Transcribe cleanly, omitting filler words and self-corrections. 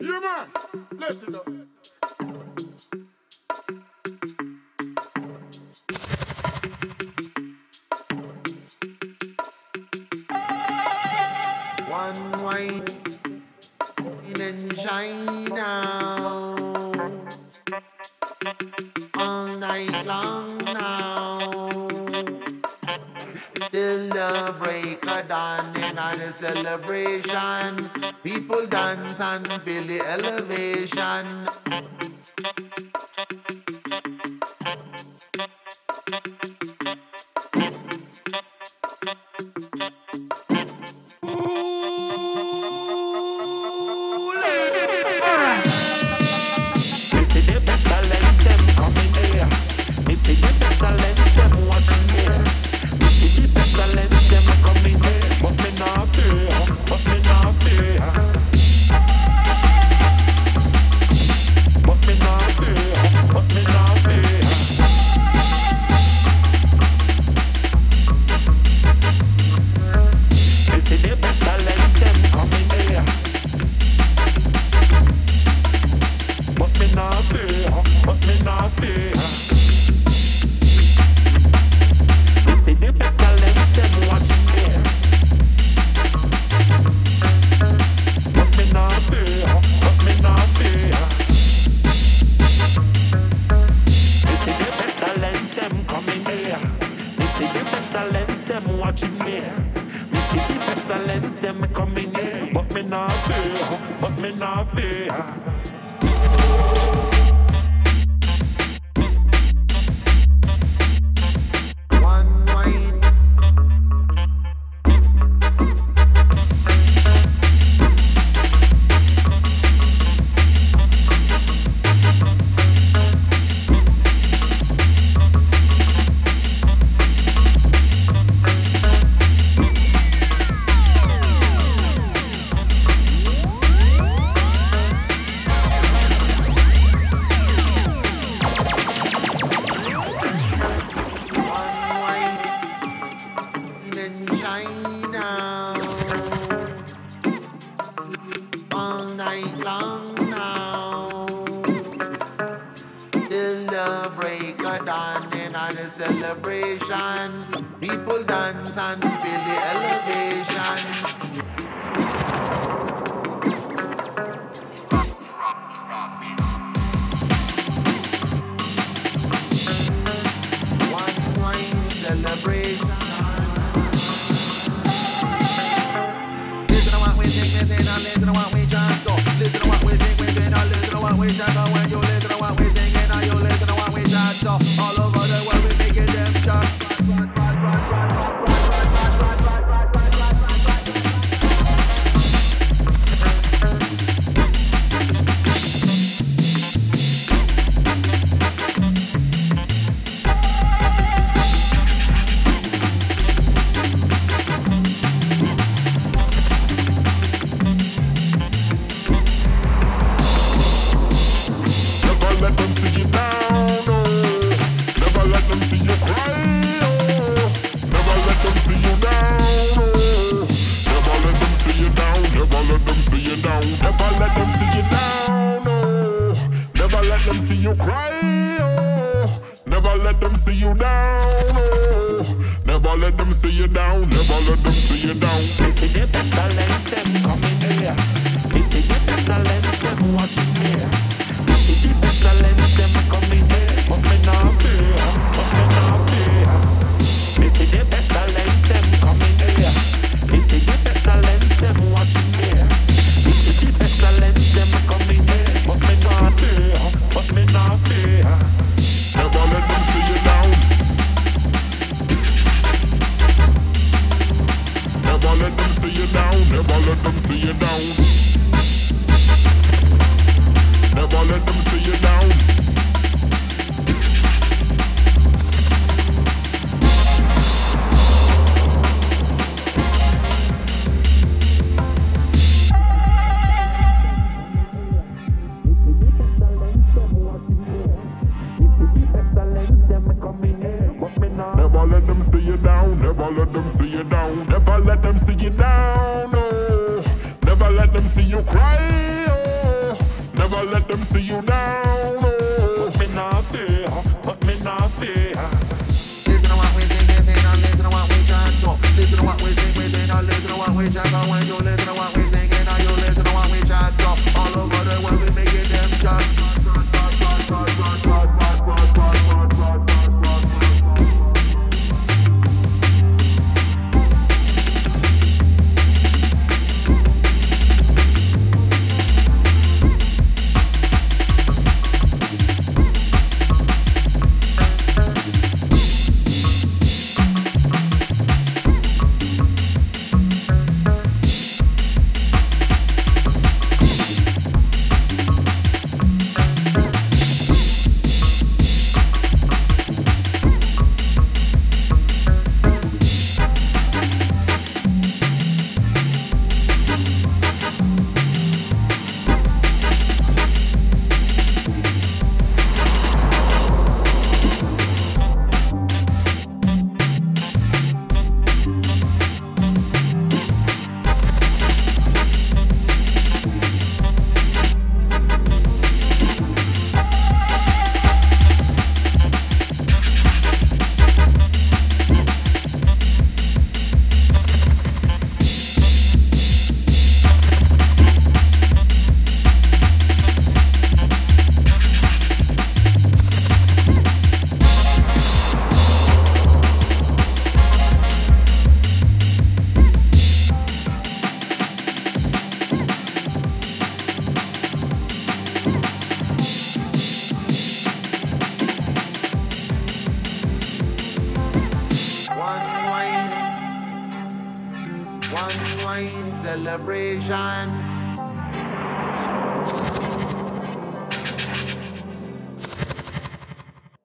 Yeah, man. Let's it up. One white and shine now, all night long now, till the break of dawn in the celebration. People dance and feel the elevation. Celebration, people dance and feel the elevation. One wine celebration. Listen to what we sing, listen to what we just do. Listen to what we sing, listen to what we just do. When you listen to what we sing, you listen to what we just do. All over the world we making them just Never let them see you down. Oh, me not there, me not there. Listen to what we think, listen to what we chant. Listen to what we think, listen to what we chant. When you listen to what we think, and you listen to what we chant. All over the world we making them chant. One wine celebration.